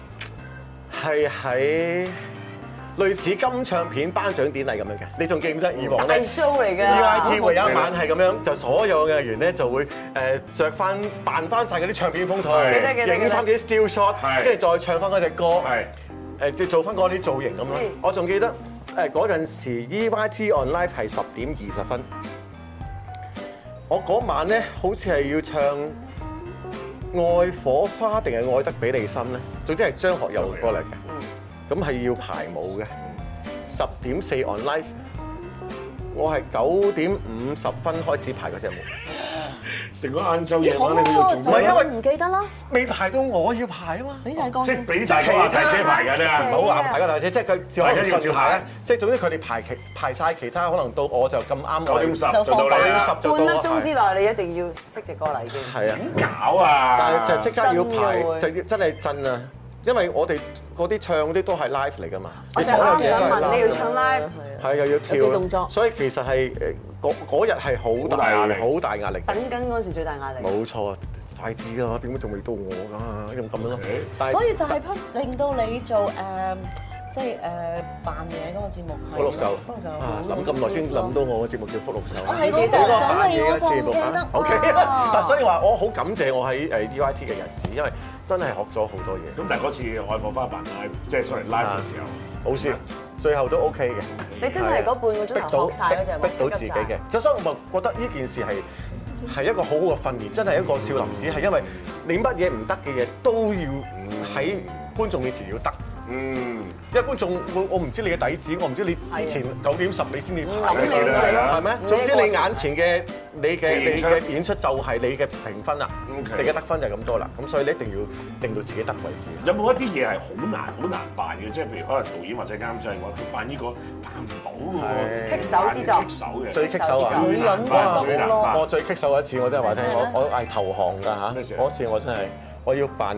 [SPEAKER 3] 喺類似金唱片頒獎典禮咁樣嘅，你仲記唔記得以往咧？
[SPEAKER 2] 大 show 嚟嘅
[SPEAKER 3] EIT 會有一晚係咁樣，就所有嘅員咧就會著翻扮翻曬嗰啲唱片風台，影翻啲 still shot， 跟住再唱翻嗰隻歌，即係做翻嗰啲造型咁咯。我仲記得嗰陣時 EIT on live 係10點20分，我嗰晚咧好似係要唱愛火花定係愛得比你深咧，總之係張學友嘅歌嚟嘅。咁係要排舞嘅，10點4 on live， 我係9點50分開始排嗰隻舞。
[SPEAKER 1] 成個晏晝夜晚你要做咩？
[SPEAKER 3] 唔係因為
[SPEAKER 4] 唔記得啦，
[SPEAKER 3] 未排到我要排啊嘛。
[SPEAKER 4] 俾大哥，
[SPEAKER 1] 即係俾大哥大姐排㗎啫，
[SPEAKER 3] 唔好話排個大姐，即係佢只可以順排咧。即係總之佢哋排曬其他，可能到我就咁啱
[SPEAKER 1] 9點10
[SPEAKER 4] 就
[SPEAKER 1] 做到你啦。
[SPEAKER 2] 半粒鐘之內，你一定要識隻歌啦已經。
[SPEAKER 3] 係啊，
[SPEAKER 1] 點搞啊！
[SPEAKER 3] 但係就即刻要排，
[SPEAKER 2] 真
[SPEAKER 3] 就真係震啊！因為我哋嗰啲唱嗰啲都係 live 嚟㗎嘛，
[SPEAKER 2] 我就啱想問你要唱 live，
[SPEAKER 3] 係又要跳
[SPEAKER 4] 有啲動作，
[SPEAKER 3] 所以其實係嗰日係好大壓力，好大壓力。
[SPEAKER 2] 等緊嗰陣時最大壓力。
[SPEAKER 3] 冇錯，快啲啊！點解仲未到我㗎？咁樣咯。
[SPEAKER 4] 所以就係令到你做即係扮嘢嗰個節目。
[SPEAKER 3] 福祿壽啊！諗咁耐先諗到我個節目叫福祿壽。
[SPEAKER 4] 係記得
[SPEAKER 3] 嗰個扮嘢嘅節目
[SPEAKER 4] 記得。
[SPEAKER 3] OK，但所以話我好感謝我喺EIT 嘅日子，因為真係學咗好多嘢。
[SPEAKER 1] 咁但係嗰次愛火花扮 live，即係 sorry live 嘅時候，
[SPEAKER 3] 好笑，最後都 OK 嘅。
[SPEAKER 2] 你真係嗰半個鐘頭學曬嗰隻舞，
[SPEAKER 3] 逼到自己嘅。所以我覺得呢件事係一個好好嘅訓練，真係一個少林寺，係因為你乜嘢唔得嘅嘢都要喺觀眾面前要得。因為觀眾我唔知你嘅底子，我唔知你之前9點10你先至排嘅，係咩？總之你眼前嘅你嘅演出就係你嘅評分啦，你嘅得分就係咁多啦。咁所以你一定要令到自己得為止。
[SPEAKER 1] 有冇一啲嘢係好難扮嘅？即係譬如可能導演或者監製話佢扮呢個扮唔到喎，
[SPEAKER 2] 棘手之作，
[SPEAKER 1] 棘手嘅
[SPEAKER 3] 最棘手啊！
[SPEAKER 4] 女人
[SPEAKER 3] 我最棘手一次，我真係話聽，我係投降㗎嚇。嗰次我真係我要扮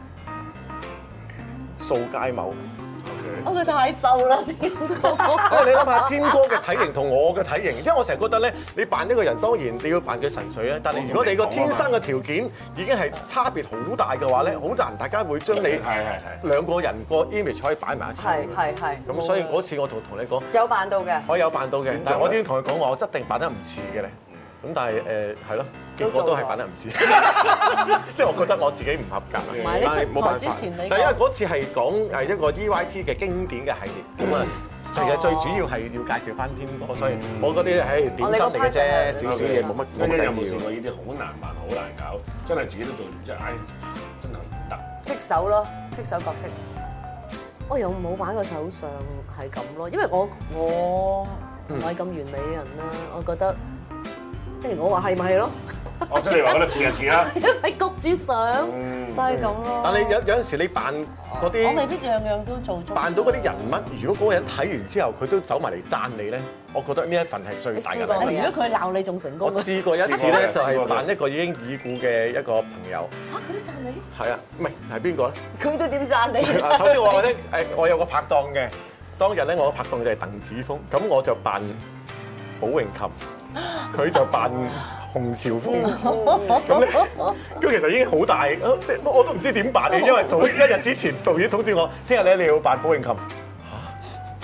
[SPEAKER 3] 掃街某，
[SPEAKER 4] 佢太瘦啦，天哥。
[SPEAKER 3] 即係你諗下，天哥嘅體型同我嘅體型，因為我成日覺得咧，你扮一個人當然你要扮佢神髓咧，但係如果你個天生嘅條件已經係差別好大嘅話咧，好難大家會將你兩個人個 image 可以擺埋一齊。
[SPEAKER 2] 係。
[SPEAKER 3] 咁所以嗰次我同你講，
[SPEAKER 2] 有扮到嘅，
[SPEAKER 3] 我有扮到嘅，但係我已經同佢講話，我一定扮得唔似嘅咧。咁但係係咯，結果都係扮得唔似，即係我覺得我自己唔合格。
[SPEAKER 4] 唔係你出台之前你，
[SPEAKER 3] 但係因為嗰次係講一個 EIT 嘅經典嘅系列，咁啊，其實最主要係要介紹翻天哥，所以我嗰啲係點心嚟嘅啫，少少嘢冇乜緊要。
[SPEAKER 1] 有冇試過呢啲好難扮、好難搞，真係自己都做，即係唉，真係唔得。
[SPEAKER 2] 棘手咯，棘手角色。
[SPEAKER 4] 我又冇玩過手上係咁咯，因為我唔係咁完美嘅人啦，我覺得。即係我話係咪係咯？
[SPEAKER 1] 即係你話覺得似就似啦，
[SPEAKER 4] 因為焗住上就係咁咯。
[SPEAKER 3] 但係有陣時你扮嗰啲，
[SPEAKER 4] 我未必樣樣都做足。
[SPEAKER 3] 扮到嗰啲人物，如果嗰個人睇完之後佢都走埋嚟讚你咧，我覺得呢一份係最大嘅。
[SPEAKER 4] 如果佢鬧你仲成功。
[SPEAKER 3] 我試過一次咧，就係扮一個已經已故嘅一個朋友。
[SPEAKER 4] 佢都讚你？
[SPEAKER 3] 係啊，唔係係邊個咧？
[SPEAKER 2] 佢都點讚你？
[SPEAKER 3] 首先我話咧，我有個拍檔嘅，當日咧我個拍檔就係鄧子峰，咁我就扮寶詠琴。佢就扮洪朝豐，咁咧，咁其實已經好大，即係我都唔知點扮嘅，因為早一日之前導演通知我，聽日咧你要扮寶詠琴，嚇，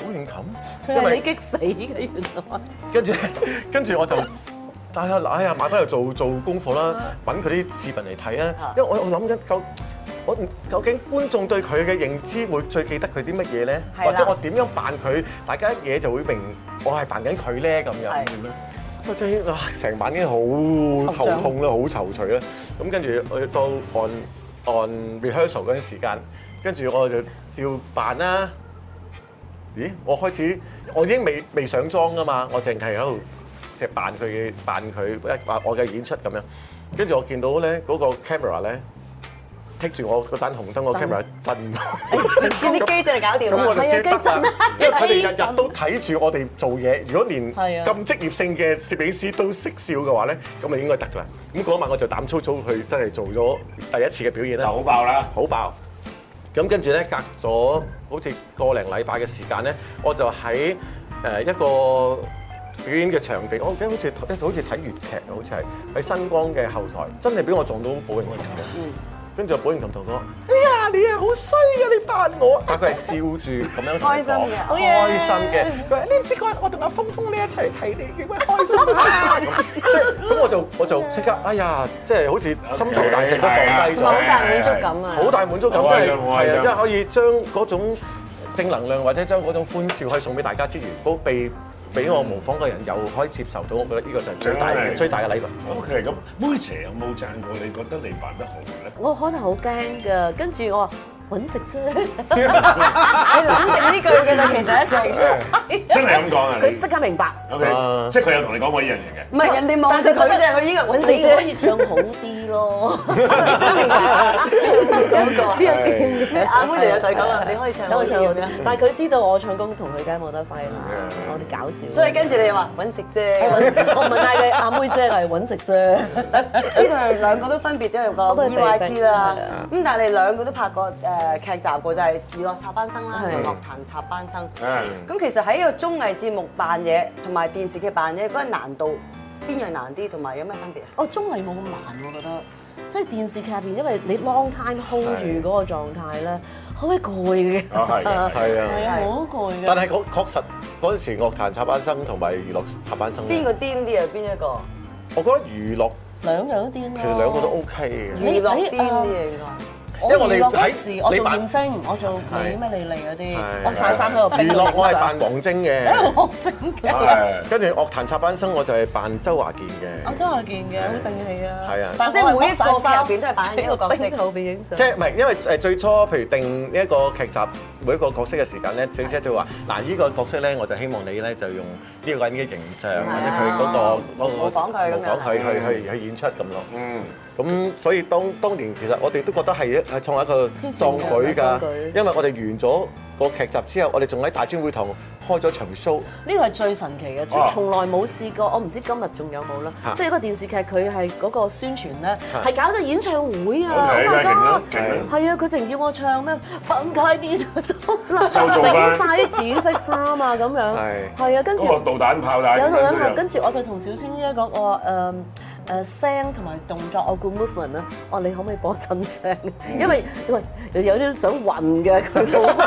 [SPEAKER 3] 小型琴，
[SPEAKER 4] 因為你激死嘅原來。
[SPEAKER 3] 跟住我就哎呀買翻嚟做功課啦，揾佢啲視頻嚟睇啊，因為我諗緊究竟觀眾對佢嘅認知會最記得佢啲乜嘢咧？或者我點樣扮佢，大家一嘢就會明我係扮緊佢咧咁樣。我真係成晚已經好頭痛啦，好躊躇啦。咁跟住我到on rehearsal 嗰陣時間，跟住我就照扮啦。咦？我已經未上妝㗎嘛，我淨係喺度即係扮佢我嘅演出咁樣。跟住我見到咧嗰個 camera 咧。剔住我嗰盞紅燈個 camera 震，
[SPEAKER 2] 見啲機真係搞掂啦。
[SPEAKER 3] 咁我就知得啦，因為佢哋日日都
[SPEAKER 2] 機
[SPEAKER 3] 睇住我哋做嘢。如果連咁職業性嘅攝影師都識笑嘅話咧，咁咪應該得㗎啦。咁嗰晚我就膽粗粗去真係做咗第一次嘅表演啦，
[SPEAKER 1] 就好爆啦，
[SPEAKER 3] 好爆。咁跟住咧，隔咗好似個零禮拜嘅時間咧，我就喺一個表演嘅場地，我記得好似睇粵劇啊，好似係喺新光嘅後台，真係俾我撞到保齡球嘅。跟住保齡琴同我講：哎呀，你啊好衰啊！你扮我，但佢係笑住咁樣同我講，開心嘅。佢話：你唔知我同阿峰你一齊睇你幾鬼開心啊！即係咁我就即刻，哎呀，即係好似心頭大石都放低咗，
[SPEAKER 2] 好大滿足感啊！
[SPEAKER 3] 好大滿足感，即係係啊，即係可以將嗰種正能量或者將嗰種歡笑可以送俾大家之餘，都俾我模仿嘅人又可以接受到，我覺得呢個就係最大嘅禮物。
[SPEAKER 1] OK，咁妹姐有冇讚過你覺得你扮得好咧？
[SPEAKER 4] 我可能好驚㗎，跟住我話揾食啫。
[SPEAKER 2] 你諗定呢句嘅啦，其實一直
[SPEAKER 1] 真係咁講啊！
[SPEAKER 4] 佢即刻明白。
[SPEAKER 1] OK，即係佢有同你講過呢樣嘢嘅。
[SPEAKER 2] 唔係人哋望住佢啫，佢依個揾食啫。
[SPEAKER 4] 可以唱好啲咯。
[SPEAKER 2] 真明白嗰個呢個勁。阿妹成日就係講話，你可以唱好啲。
[SPEAKER 4] 但係佢知道我唱功同佢梗係冇得揮啦，我哋搞笑。
[SPEAKER 2] 所以跟住你話揾食啫。
[SPEAKER 4] 我唔係嗌佢阿妹姐係揾食啫。
[SPEAKER 2] 知道你兩個都分別都有個 EYT 啦。咁但係你兩個都拍過劇集過，就係娛樂插班生啦，同樂壇插班生。咁其實喺一個綜藝節目扮嘢同埋電視劇扮嘢嗰個難度，邊樣難啲，同埋有咩分別啊？
[SPEAKER 4] 綜藝冇咁難，我覺得。即係電視劇入邊，因為你 long time hold 住嗰個狀態咧，好鬼攰嘅。
[SPEAKER 3] 係啊，
[SPEAKER 4] 好攰嘅。
[SPEAKER 3] 但係確實嗰陣時樂壇插班生同埋娛樂插班生，
[SPEAKER 2] 邊個癲啲啊？邊一個？
[SPEAKER 3] 我覺得娛樂
[SPEAKER 4] 兩樣都癲啦。
[SPEAKER 3] 其實兩個都 OK 嘅。
[SPEAKER 2] 娛樂癲啲啊應該。
[SPEAKER 4] 因為我哋嗰時我做艷星，我做咩莉莉嗰啲，我曬衫喺度。
[SPEAKER 3] 娛樂我係扮王晶嘅，
[SPEAKER 4] 王晶嘅。
[SPEAKER 3] 跟住樂壇插班生我就係扮周華健嘅。
[SPEAKER 4] 我周華健嘅，好正氣啊！
[SPEAKER 3] 係啊，
[SPEAKER 2] 但係每一個劇入邊都係扮一個角色。
[SPEAKER 4] 後邊影相。
[SPEAKER 3] 即係唔係因為最初譬如定呢一個劇集每一個角色嘅時間咧，小姐就話：嗱呢個角色咧，我就希望你咧就用呢個人嘅形象或者佢嗰個
[SPEAKER 2] 模仿佢
[SPEAKER 3] 去演出咁咯。咁所以當年其實我哋都覺得係創一個壯舉㗎，因為我哋完咗個劇集之後，我哋仲喺大專會堂開咗場 show。
[SPEAKER 4] 呢個係最神奇嘅，即係從來冇試過。我唔知今日仲有冇啦。即係一個電視劇，佢係嗰個宣傳咧，係搞咗演唱會啊！Oh my god！係啊，佢淨要我唱咩？放開啲都整晒啲紫色衫啊咁樣。係啊，跟住
[SPEAKER 1] 嗰個導彈炮彈。
[SPEAKER 4] 有導彈炮，跟住我就同小青姨講，我話聲同埋動作，我顧 movement 啦。我話你可唔可以播真聲？因為有啲想暈嘅佢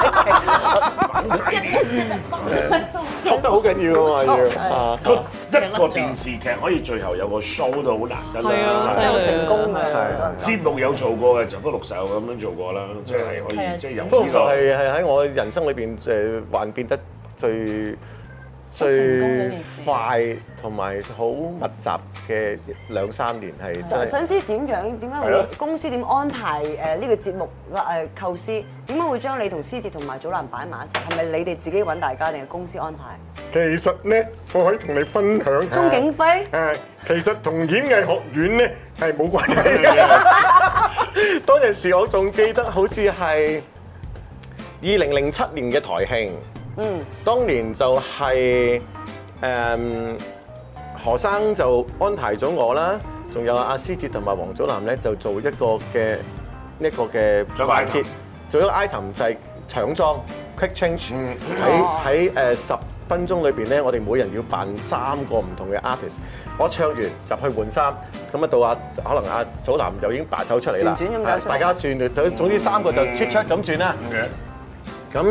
[SPEAKER 3] 衝得好緊要啊嘛要。
[SPEAKER 1] 一個電視劇可以最後有個 show 都好難得啦，
[SPEAKER 2] 真係成功嘅。
[SPEAKER 1] 節目有做過嘅就福祿壽咁樣做過啦，即係可以即係有。
[SPEAKER 3] 福祿壽係喺我人生裏邊還變得最快同埋好密集嘅2-3年係真係。
[SPEAKER 2] 想知點解會公司點安排呢個節目構思？點解會將你同思捷同埋祖藍擺埋一齊？係咪你哋自己揾大家定係公司安排？
[SPEAKER 3] 其實咧，我可以同你分享。
[SPEAKER 2] 鍾景輝
[SPEAKER 3] 其實同演藝學院咧係冇關係嘅。當陣時我仲記得好似係2007年嘅台慶。當年就係何生就安排咗我啦，仲有阿思捷同埋王祖藍咧就做一個嘅環節，做一個 item 就係搶妝 quick change。喺10分鐘裏邊咧，我哋每人要扮3個唔同嘅 artist。我唱完就去換衫，咁啊到可能阿祖藍又已經走出嚟啦，大家轉，總之3個就出咁轉啦。咁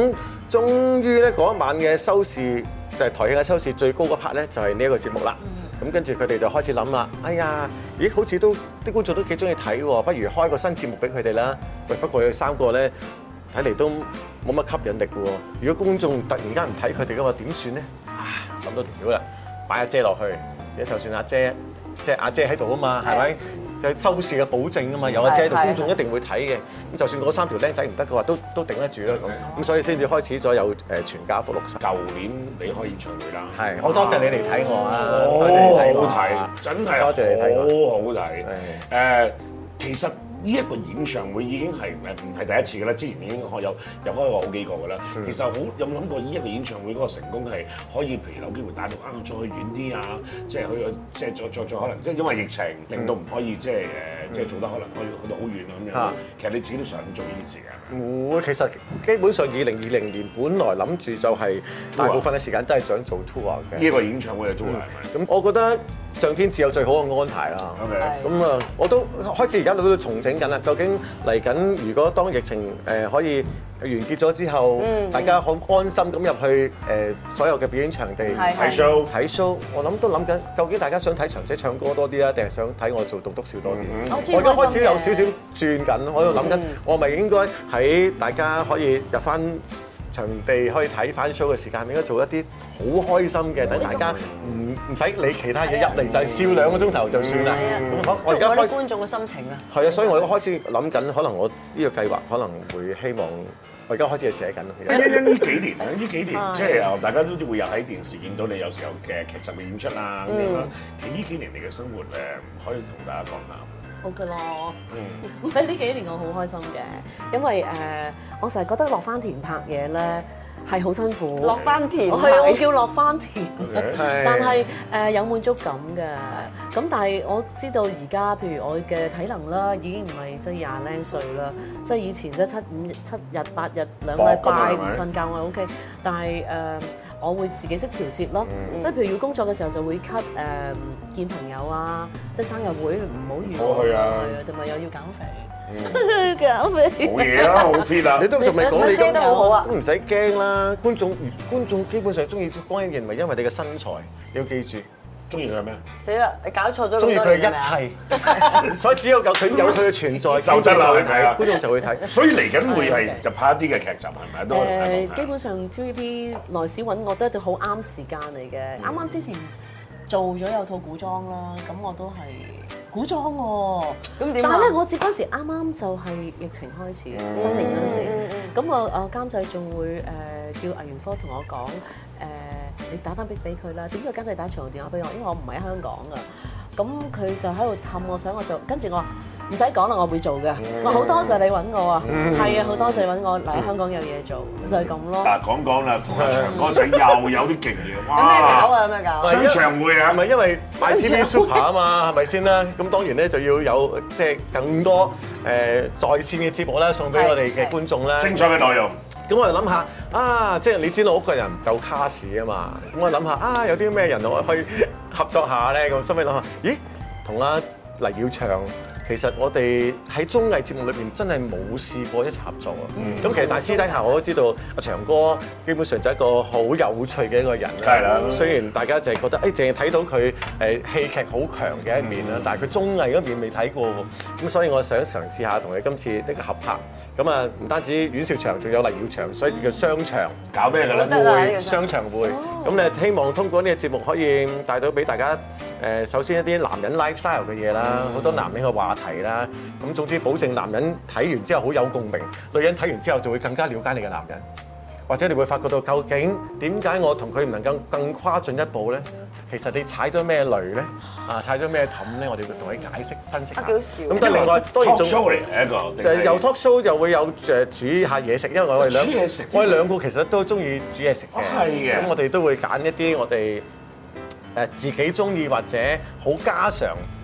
[SPEAKER 3] 終於咧嗰一晚嘅收視就係台慶嘅收視最高嗰 part 咧，就係呢一個節目啦。咁跟住佢哋就開始諗啦，哎呀，咦，好似都啲觀眾都幾中意睇喎，不如開個新節目俾佢哋啦。喂，不過佢哋3個咧睇嚟都冇乜吸引力喎。如果觀眾突然間唔睇佢哋嘅話，點算咧？諗到條橋啦，擺阿姐落去，就算阿姐即係阿姐喺度啊嘛，係咪？就係收視嘅保證啊嘛，有阿姐喺度，觀眾一定會睇嘅。咁就算嗰3條僆仔唔得嘅話，都頂得住啦咁。咁所以先至開始咗有全家福60。
[SPEAKER 1] 舊年你開演唱會啦，
[SPEAKER 3] 係，我多謝你嚟睇我啊！
[SPEAKER 1] 好睇，真係
[SPEAKER 3] 多謝你睇我，
[SPEAKER 1] 好好睇。其實呢一個演唱會已經係唔係第一次㗎啦，之前已經有開過好幾個㗎啦。其實有冇諗過呢一個演唱會嗰個成功係可以，譬如有機會帶到再去遠啲啊，即係去即係再可能，即係因為疫情令到唔可以即係做得可能可以去到好遠啊咁樣。其實你自己都想做呢件事㗎。
[SPEAKER 3] 會，其實基本上2020年本來諗住就係大部分嘅時間都係想做 tour 嘅。
[SPEAKER 1] 呢一個演唱會嘅 tour 係咪？
[SPEAKER 3] 咁我覺得上天自有最好嘅安排啦。咁啊，我都開始而家都重整緊啦。究竟嚟緊，如果當疫情可以完結咗之後，大家好安心咁入去所有嘅表演場地
[SPEAKER 1] 睇 show，
[SPEAKER 3] 我都諗緊，究竟大家想睇長姐唱歌多啲啊，定係想睇我做棟篤笑多啲？我而家開始有少少轉緊，我喺度諗緊，我咪應該喺大家可以入翻場地可以睇翻 show 嘅時間，應該做一啲好開心嘅，等大家唔使理其他嘢，入嚟就係笑2個鐘頭就算啦。咁我而家
[SPEAKER 2] 開觀眾嘅心情啊。
[SPEAKER 3] 係啊，所以我而家開始諗緊，可能我呢個計劃可能會希望，我而家開始係寫緊。
[SPEAKER 1] 呢幾年啊，呢幾年即係大家都會有喺電視見到你有時候嘅劇集嘅演出啊咁樣啦。其實呢幾年你嘅生活可以同大家講下。
[SPEAKER 4] 好嘅咯，唔係呢幾年我好開心嘅，因為我成日覺得落番田拍嘢咧係好辛苦。
[SPEAKER 2] 落番田
[SPEAKER 4] 係啊，我叫落番田，但係有滿足感嘅。咁但係我知道而家譬如我嘅體能啦，已經唔係即係20零歲啦，即係以前都7日8日2禮拜唔瞓覺我 OK， 但係我會自己識調節咯，即係譬如要工作嘅時候就會 cut 見朋友啊，即係生日會唔好預啊，同埋又要減肥，減肥
[SPEAKER 1] 冇嘢啦，好 fit 啊！
[SPEAKER 3] 你都仲未講你
[SPEAKER 2] 遮得好好啊，
[SPEAKER 3] 都唔使驚啦。觀眾基本上中意江欣燕，唔係因為你嘅身材，你要記住。
[SPEAKER 1] 中意佢係咩？
[SPEAKER 2] 死啦！你搞錯咗。
[SPEAKER 3] 中意佢嘅一切，所以只有佢有佢嘅存在，
[SPEAKER 1] 就得啦。
[SPEAKER 3] 睇觀眾就會睇。
[SPEAKER 1] 所以嚟緊會係就拍一啲嘅劇集係咪？都
[SPEAKER 4] 基本上 TVB 內史揾我都好啱時間嚟嘅。啱啱之前做咗有套古裝啦，咁我都係古裝喎。咁點？但係咧，我接嗰時啱啱就係疫情開始嘅新年嗰陣時，咁我監製仲會叫藝員科同我講你打翻俾佢啦，點解監製打長途電話俾我？因為我唔喺香港㗎。咁佢就喺度氹我，想我做，跟住我話唔使講啦，我會做嘅。我好多謝你揾我啊，係啊，好多謝揾我嚟香港有嘢做，就係咁咯。
[SPEAKER 1] 嗱，講啦，同阿長哥仔又有啲勁嘢，哇！
[SPEAKER 2] 有咩搞啊？有咩搞？
[SPEAKER 1] 商場會啊，
[SPEAKER 3] 係咪因為買 TV Super 啊嘛？係咪先啦？咁當然咧就要有即係更多在線嘅節目啦，送俾我哋嘅觀眾啦。
[SPEAKER 1] 精彩嘅內容。
[SPEAKER 3] 咁我就諗下即係你知道我個人唔夠卡士啊嘛，咁我諗下有啲咩人我可以合作下咧？咁心尾諗下，咦，同阿黎耀祥，其實我哋喺綜藝節目裏邊真係冇試過一齊合作啊。咁其實但係私底下我都知道阿長哥基本上就係一個好有趣嘅一個人啦。
[SPEAKER 1] 係啦。
[SPEAKER 3] 雖然大家淨係覺得淨係睇到佢戲劇好強嘅一面啦，但係佢綜藝嗰邊未睇過喎。咁所以我想嘗試下同佢今次呢個合拍。咁啊，唔單止阮兆祥，仲有黎耀祥，所以叫雙場。
[SPEAKER 1] 搞咩㗎咧？
[SPEAKER 3] 會雙場會。咁咧希望通過呢個節目可以帶到俾大家首先一啲男人 lifestyle 嘅嘢啦，好多男人嘅話題啦。咁總之保證男人睇完之後好有共鳴，女人睇完之後就會更加了解你嘅男人。或者你會發覺到究竟點解我同佢唔能夠更跨進一步咧？其實你踩咗咩雷咧？踩咗咩氹咧？我哋會同你解釋分析下。
[SPEAKER 2] 幾好笑。
[SPEAKER 3] 咁但係另外當然仲
[SPEAKER 1] talk show 嚟嘅一個，
[SPEAKER 3] 就係有 talk show 就會有煮下嘢食，因為我哋兩個其實都中意煮嘢食嘅。
[SPEAKER 1] 係嘅。
[SPEAKER 3] 咁我哋都會揀一啲我哋自己中意或者好家常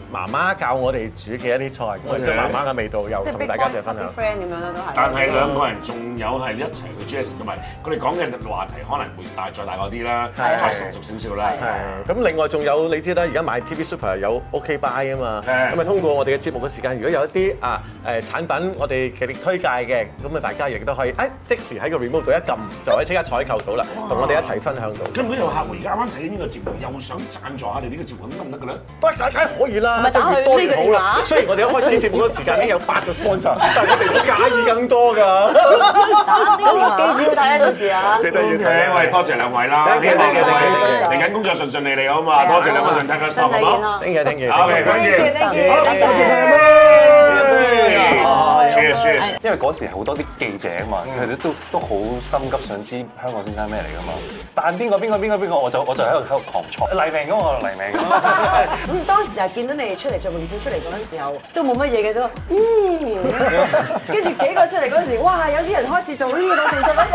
[SPEAKER 3] 媽媽教我哋煮嘅一啲菜，我哋將媽媽嘅味道又同大家一齊分享。
[SPEAKER 2] friend 咁樣啦都係。
[SPEAKER 1] 但係兩個人仲有係一齊去煮嘢食，同埋佢哋講嘅話題可能會再大個啲啦，再成熟少少啦。
[SPEAKER 3] 係。咁另外仲有你知啦，而家買 TV Super 有 OK Buy 啊嘛，咁啊通過我哋嘅節目嘅時間，如果有一啲產品我哋極力推介嘅，咁啊大家亦都可以即時喺個 remote 度一撳，就可以即刻採購到啦，同我哋一齊分享到。
[SPEAKER 1] 咁如果有客戶而家啱啱睇緊呢個節目，又想贊助下你呢個節目，咁得唔得嘅咧？
[SPEAKER 3] 梗係可以啦，即係越多越好啦。雖然我哋一開始節目嗰時間已經有8個 sponsor，但係我哋會介意更多㗎。
[SPEAKER 2] 記住睇到時啊！
[SPEAKER 3] 記得要睇。
[SPEAKER 1] 喂，多謝兩位啦，嚟緊工作順順利利好嘛？多謝兩位上睇嘅收，好冇
[SPEAKER 3] ？Thank you。
[SPEAKER 1] OK，多謝。好，多謝。
[SPEAKER 5] 因為嗰時好多啲記者啊嘛，佢哋都好心急想知香港先生咩嚟㗎嘛。但邊個，我就喺度狂錯黎明嗰個黎明。
[SPEAKER 2] 咁當時係見到你哋出嚟着泳褲出嚟嗰陣時候，都冇乜嘢嘅都，跟住幾個出嚟嗰陣時，哇！有啲人開始做呢個動作咧。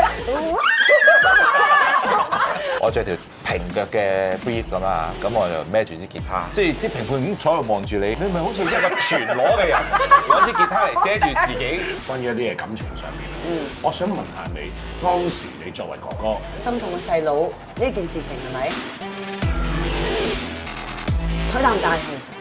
[SPEAKER 6] 我着條平腳嘅 brief 咁啊，咁我就孭住支吉他，即係啲評判咁坐喺度望住你，你咪好似一個全裸嘅人攞支吉他嚟遮住自己。
[SPEAKER 1] 關於一啲嘢感情上面，我想問下你，當時你作為哥哥，
[SPEAKER 2] 心痛嘅細佬呢件事情係咪？佢大唔大？